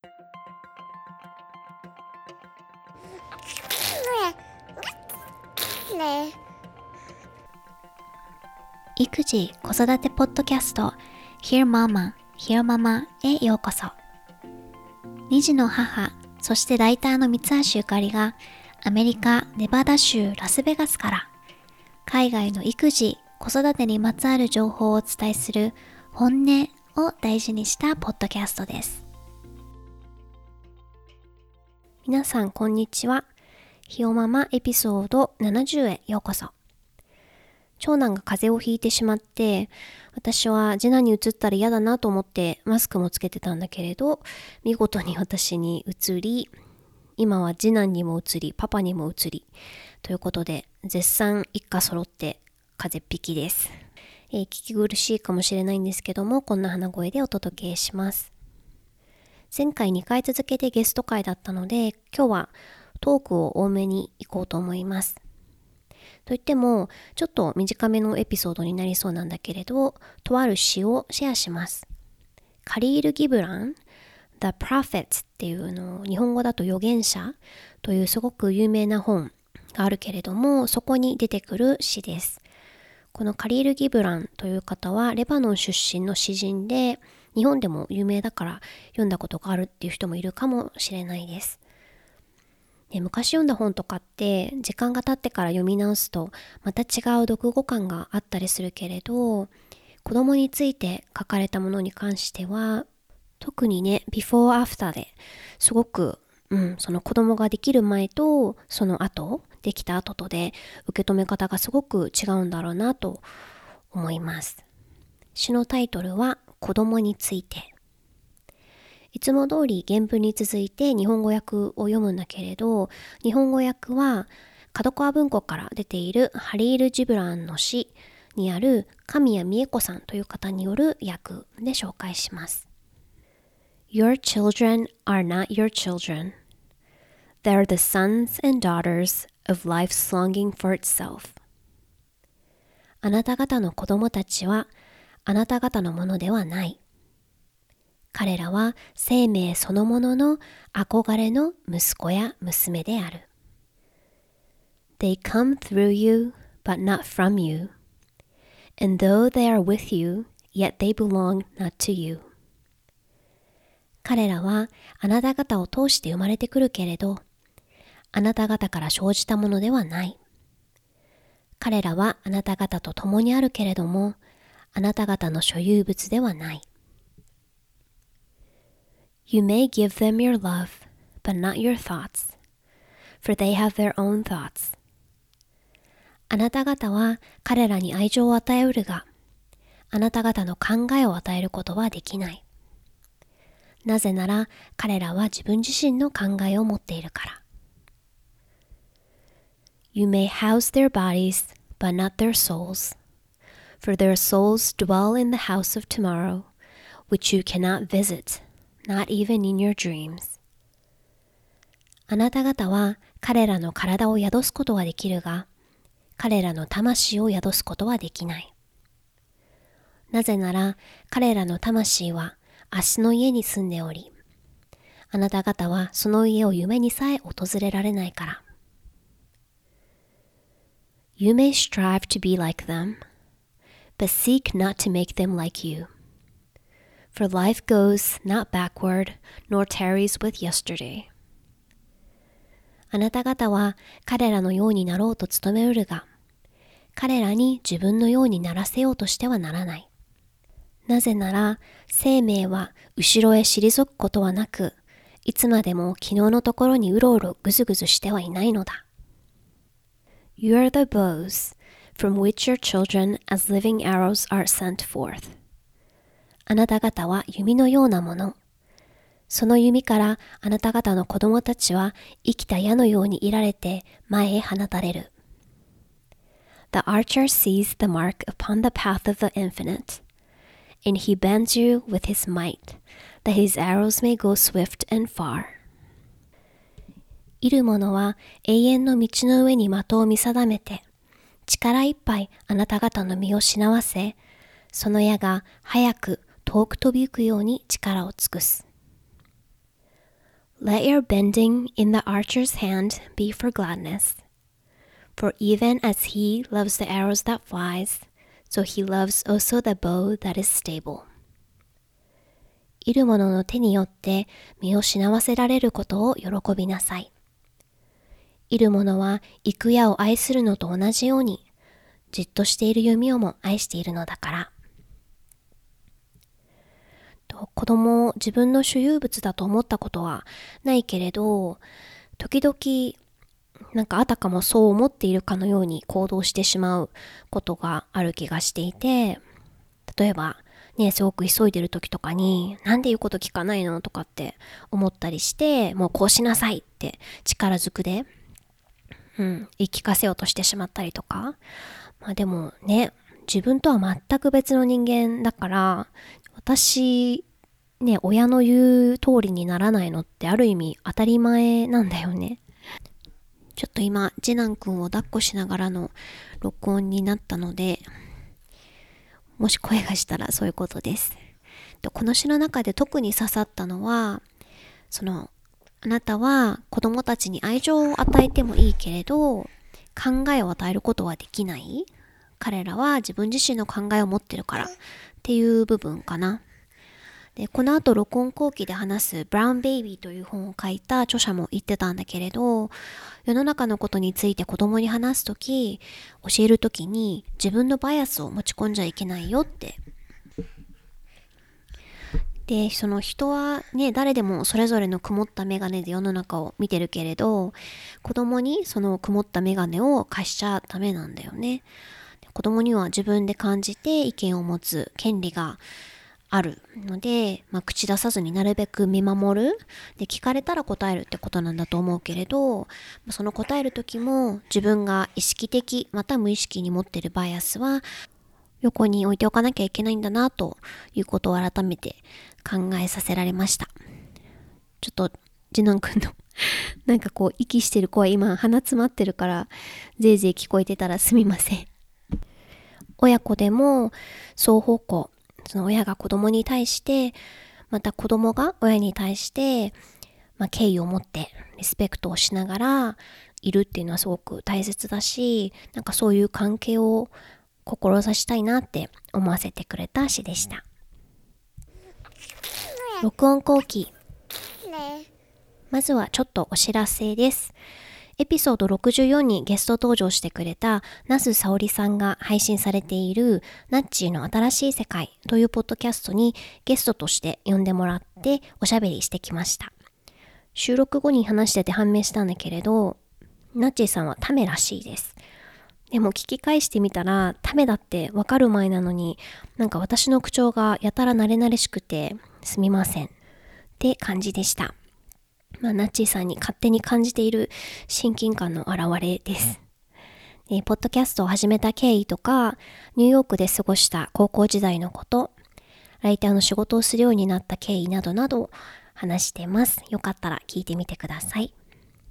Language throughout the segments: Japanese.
育児・子育てポッドキャスト Hear Mama, Hear Mama へようこそ。2児の母、そしてライターの三橋ゆかりがアメリカ・ネバダ州ラスベガスから海外の育児・子育てにまつわる情報をお伝えする本音を大事にしたポッドキャストです。皆さんこんにちは。ひよママエピソード70へようこそ。長男が風邪をひいてしまって、私は次男に移ったら嫌だなと思ってマスクもつけてたんだけれど、見事に私に移り、今は次男にも移り、パパにも移り、ということで絶賛一家揃って風邪っぴきです。聞き苦しいかもしれないんですけども、こんな鼻声でお届けします。前回2回続けてゲスト会だったので、今日はトークを多めに行こうと思います。といっても、ちょっと短めのエピソードになりそうなんだけれど、とある詩をシェアします。カリール・ギブラン、The Prophets っていうのを日本語だと預言者というすごく有名な本があるけれども、そこに出てくる詩です。このカリール・ギブランという方はレバノン出身の詩人で、日本でも有名だから読んだことがあるっていう人もいるかもしれないです。昔読んだ本とかって時間が経ってから読み直すとまた違う読後感があったりするけれど、子供について書かれたものに関しては特にね、before after ですごく、その子供ができる前とその後、できた後とで受け止め方がすごく違うんだろうなと思います。詩のタイトルは子供について。いつも通り原文に続いて日本語訳を読むんだけれど、日本語訳は角川文庫から出ているハリール・ジブランの詩にある神谷美恵子さんという方による訳で紹介します。Your children are not your children. They are the sons and daughters of life's longing for itself. あなた方の子供たちはあなた方のものではない。彼らは生命そのものの憧れの息子や娘である。They come through you, but not from you. And though they are with you, yet they belong not to you. 彼らはあなた方を通して生まれてくるけれど、あなた方から生じたものではない。彼らはあなた方と共にあるけれども、あなた方の所有物ではない。You may give them your love, but not your thoughts, for they have their own thoughts. あなた方は彼らに愛情を与えうるが、あなた方の考えを与えることはできない。なぜなら彼らは自分自身の考えを持っているから。You may house their bodies, but not their souls, for their souls dwell in the house of tomorrow, which you cannot visit.Not even in your dreams. あなた方は彼らの体を宿すことはできるが、彼らの魂を宿すことはできない。なぜなら彼らの魂は明日の家に住んでおり、あなた方はその家を夢にさえ訪れられないから。You may strive to be like them, but seek not to make them like you.For life goes not backward, nor tarries with yesterday. あなた方は彼らのようになろうと努めうるが、彼らに自分のようにならせようとしてはならない。なぜなら、生命は後ろへ退くことはなく、いつまでも昨日のところにうろうろぐずぐずしてはいないのだ。You are the bows from which your children as living arrows are sent forth.あなた方は弓のようなもの。その弓からあなた方の子供たちは生きた矢のように射られて前へ放たれる。The archer sees the mark upon the path of the infinite, and he bends you with his might, that his arrows may go swift and far. 射る者は永遠の道の上に的を見定めて、力いっぱいあなた方の身をしなわせ、その矢が早く遠く飛びゆくように力を尽くす。 Let your bending in the archer's hand be for gladness. For even as he loves the arrows that flies, so he loves also the bow that is stable. 射る者の手によって身を死なわせられることを喜びなさい。射る者は行く矢を愛するのと同じように、じっとしている弓をも愛しているのだから。子供を自分の所有物だと思ったことはないけれど、時々なんかあたかもそう思っているかのように行動してしまうことがある気がしていて、例えばね、すごく急いでる時とかになんで言うこと聞かないのとかって思ったりして、もうこうしなさいって力ずくで、言い聞かせようとしてしまったりとか。でもね、自分とは全く別の人間だから、私ね、親の言う通りにならないのってある意味当たり前なんだよね。ちょっと今次男くんを抱っこしながらの録音になったので、もし声がしたらそういうことです。この詩の中で特に刺さったのは、あなたは子供たちに愛情を与えてもいいけれど、考えを与えることはできない。彼らは自分自身の考えを持ってるからっていう部分かな。で、この後録音後期で話すブラウンベイビーという本を書いた著者も言ってたんだけれど、世の中のことについて子供に話すとき、教えるときに自分のバイアスを持ち込んじゃいけないよって。で、その人はね、誰でもそれぞれの曇ったメガネで世の中を見てるけれど、子供にその曇ったメガネを貸しちゃダメなんだよね。子供には自分で感じて意見を持つ権利があるので、口出さずになるべく見守る。で、聞かれたら答えるってことなんだと思うけれど、その答える時も自分が意識的また無意識に持っているバイアスは横に置いておかなきゃいけないんだなということを改めて考えさせられました。ちょっと次男くんのなんかこう息してる声、今鼻詰まってるからぜいぜい聞こえてたらすみません。親子でも双方向、その親が子供に対して、また子供が親に対して、敬意を持ってリスペクトをしながらいるっていうのはすごく大切だし、なんかそういう関係を志したいなって思わせてくれた詩でした。録音後期。まずはちょっとお知らせです。エピソード64にゲスト登場してくれた那須沙織さんが配信されているナッチーの新しい世界というポッドキャストにゲストとして呼んでもらっておしゃべりしてきました。収録後に話してて判明したんだけれど、ナッチーさんはタメらしいです。でも聞き返してみたらタメだってわかる前なのに、なんか私の口調がやたら慣れ慣れしくてすみませんって感じでした。ナッチーさんに勝手に感じている親近感の表れです。ポッドキャストを始めた経緯とか、ニューヨークで過ごした高校時代のこと、ライターの仕事をするようになった経緯などなど話してます。よかったら聞いてみてください。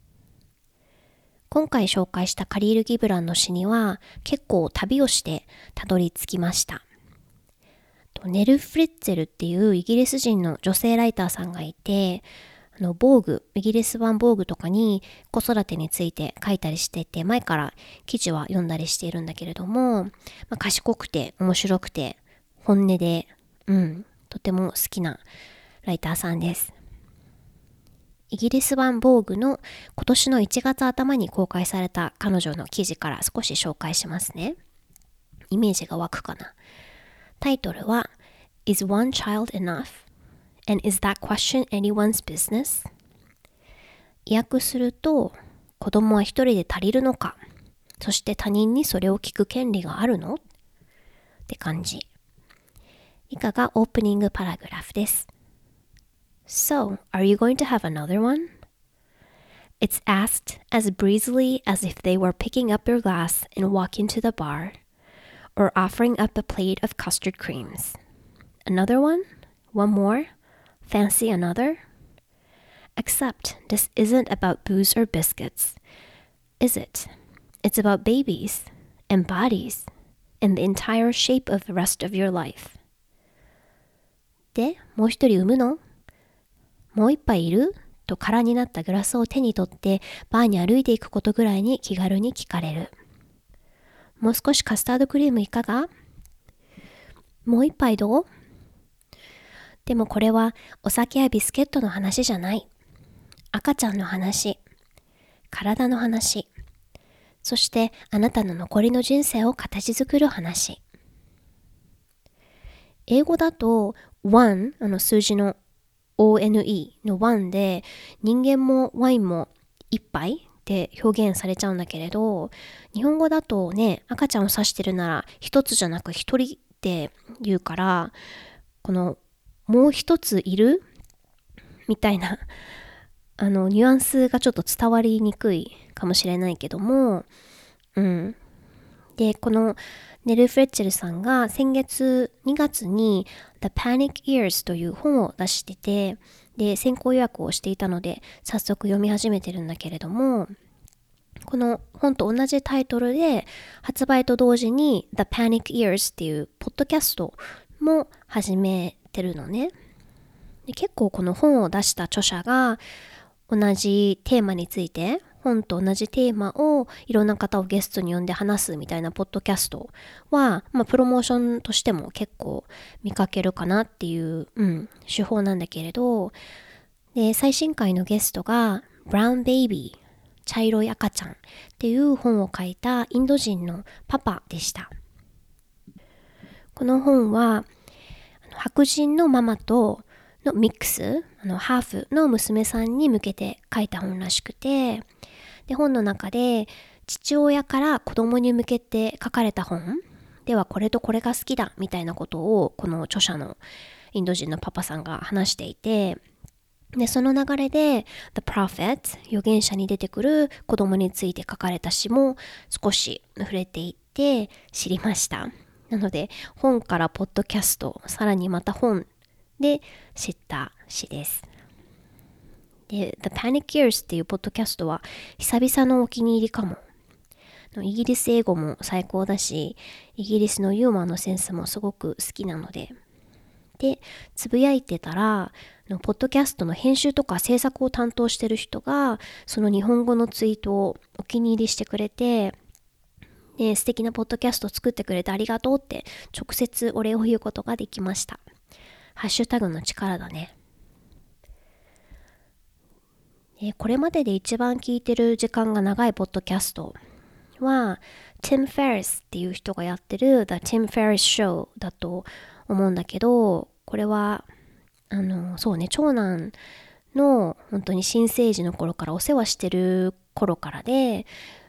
今回紹介したカリール・ギブランの詩には結構旅をしてたどり着きました。ネル・フリッツェルっていうイギリス人の女性ライターさんがいて、ボーグ、イギリス版ボーグとかに子育てについて書いたりしてて、前から記事は読んだりしているんだけれども、賢くて面白くて本音で、とても好きなライターさんです。イギリス版ボーグの今年の1月頭に公開された彼女の記事から少し紹介しますね。イメージが湧くかな。タイトルは Is one child enough?And is that question anyone's business? 訳すると、子供は一人で足りるのか、そして他人にそれを聞く権利があるのって感じ。以下がオープニングパラグラフです。So, are you going to have another one? It's asked as breezily as if they were picking up your glass and walking to the bar, or offering up a plate of custard creams. Another one? One more?Fancy another? Except this isn't about booze or biscuits, is it? It's about babies and bodies and the entire shape of the rest of your life. で、もう一人産むの？もう一杯いる？ と空になったグラスを手に取ってバーに歩いていくことぐらいに気軽に聞かれる。もう少しカスタードクリームいかが？もう一杯どう？でもこれはお酒やビスケットの話じゃない。赤ちゃんの話、体の話、そしてあなたの残りの人生を形作る話。英語だと one、数字の one の one で人間もワインも一杯って表現されちゃうんだけれど、日本語だとね、赤ちゃんを指してるなら一つじゃなく一人って言うから、このもう一ついるみたいなニュアンスがちょっと伝わりにくいかもしれないけども、で、このネル・フレッチェルさんが先月2月に The Panic Years という本を出してて、で、先行予約をしていたので早速読み始めてるんだけれども、この本と同じタイトルで発売と同時に The Panic Years っていうポッドキャストも始めてるのね。で、結構この本を出した著者が同じテーマについて、本と同じテーマをいろんな方をゲストに呼んで話すみたいなポッドキャストは、プロモーションとしても結構見かけるかなっていう、手法なんだけれど、で、最新回のゲストが Brown Baby、茶色い赤ちゃんっていう本を書いたインド人のパパでした。この本は白人のママとのミックス、ハーフの娘さんに向けて書いた本らしくて、で、本の中で父親から子供に向けて書かれた本ではこれとこれが好きだみたいなことをこの著者のインド人のパパさんが話していて、で、その流れで The Prophet、 預言者に出てくる子供について書かれた詩も少し触れていって知りました。なので本からポッドキャスト、さらにまた本で知った詩です。で、The Panic Years っていうポッドキャストは久々のお気に入りかも。イギリス英語も最高だし、イギリスのユーモアのセンスもすごく好きなので。で、つぶやいてたら、ポッドキャストの編集とか制作を担当してる人が、その日本語のツイートをお気に入りしてくれて、で、素敵なポッドキャストを作ってくれてありがとうって直接お礼を言うことができました。ハッシュタグの力だね。これまでで一番聞いてる時間が長いポッドキャストは Tim Ferriss っていう人がやってる The Tim Ferriss Show だと思うんだけど、これはそうね、長男の本当に新生児の頃からお世話してる頃からで、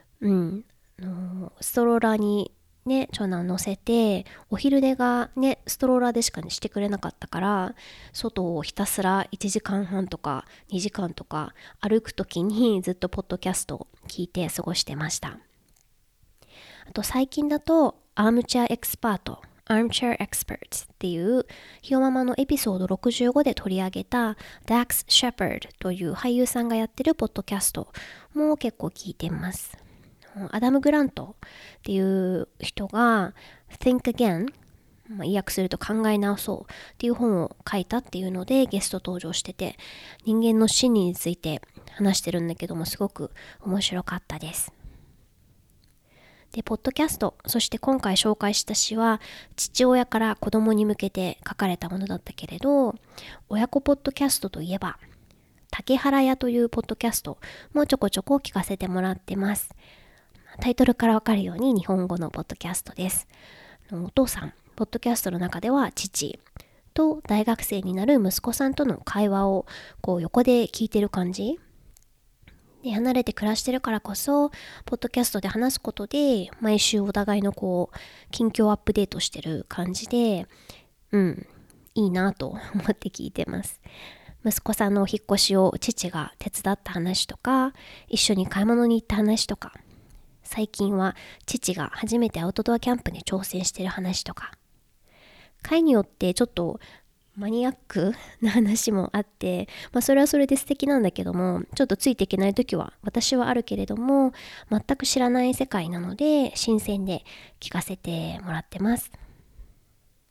ストローラーにね、長男乗せて、お昼寝がね、ストローラーでしかしてくれなかったから、外をひたすら1時間半とか2時間とか歩くときにずっとポッドキャストを聞いて過ごしてました。あと最近だと、Armchair Experts っていうひよママのエピソード65で取り上げた Dax Shepard という俳優さんがやってるポッドキャストも結構聞いてます。アダム・グラントっていう人が Think Again、意訳すると考え直そうっていう本を書いたっていうのでゲスト登場してて、人間の心理について話してるんだけどもすごく面白かったです。で、ポッドキャスト、そして今回紹介した詩は父親から子供に向けて書かれたものだったけれど、親子ポッドキャストといえば竹原屋というポッドキャストもちょこちょこ聞かせてもらってます。タイトルからわかるように日本語のポッドキャストです。お父さん、ポッドキャストの中では父と大学生になる息子さんとの会話をこう横で聞いてる感じで、離れて暮らしてるからこそポッドキャストで話すことで毎週お互いのこう近況アップデートしてる感じで、いいなと思って聞いてます。息子さんのお引っ越しを父が手伝った話とか、一緒に買い物に行った話とか、最近は父が初めてアウトドアキャンプに挑戦してる話とか、回によってちょっとマニアックな話もあって、それはそれで素敵なんだけども、ちょっとついていけない時は私はあるけれども、全く知らない世界なので新鮮で聞かせてもらってます。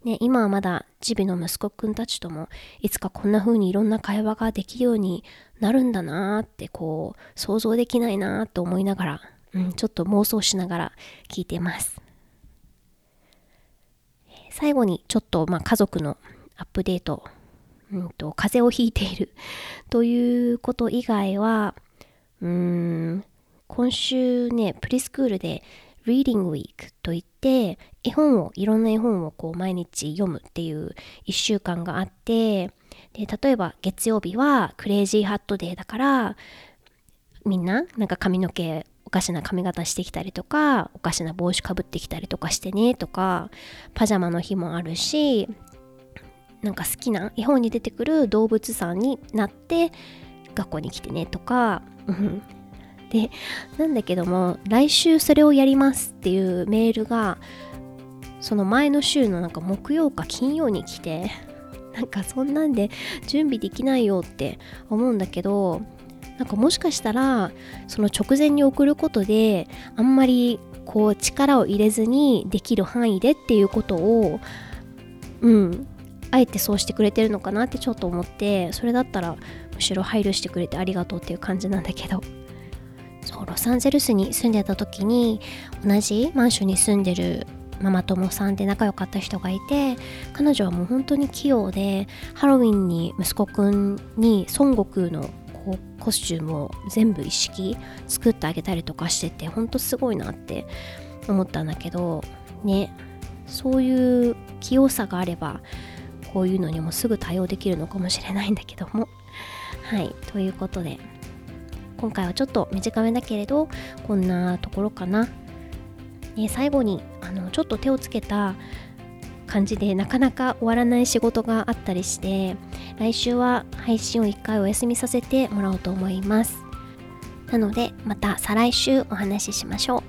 ね、今はまだジビの息子くんたちともいつかこんな風にいろんな会話ができるようになるんだなーって想像できないなーと思いながら、ちょっと妄想しながら聞いてます。最後にちょっと家族のアップデート、風邪をひいているということ以外は、今週ね、プリスクールでReading Week といっていろんな絵本を毎日読むっていう1週間があって、で例えば月曜日はクレイジーハットデーだからみんな髪の毛おかしな髪型してきたりとかおかしな帽子かぶってきたりとかしてねとか、パジャマの日もあるし、好きな絵本に出てくる動物さんになって学校に来てねとかで、なんだけども来週それをやりますっていうメールがその前の週の木曜か金曜に来て、そんなんで準備できないよって思うんだけど、もしかしたらその直前に送ることであんまり力を入れずにできる範囲でっていうことをあえてそうしてくれてるのかなってちょっと思って、それだったらむしろ配慮してくれてありがとうっていう感じなんだけど、ロサンゼルスに住んでた時に同じマンションに住んでるママ友さんで仲良かった人がいて、彼女はもう本当に器用でハロウィンに息子くんに孫悟空のコスチュームを全部一式作ってあげたりとかしてて、本当すごいなって思ったんだけどね、そういう器用さがあればこういうのにもすぐ対応できるのかもしれないんだけども、はいということで今回はちょっと短めだけれどこんなところかな。最後にちょっと手をつけた感じでなかなか終わらない仕事があったりして、来週は配信を1回お休みさせてもらおうと思います。なのでまた再来週お話ししましょう。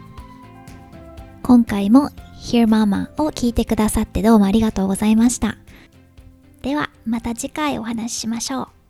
今回も Hear Mama を聞いてくださってどうもありがとうございました。ではまた次回お話ししましょう。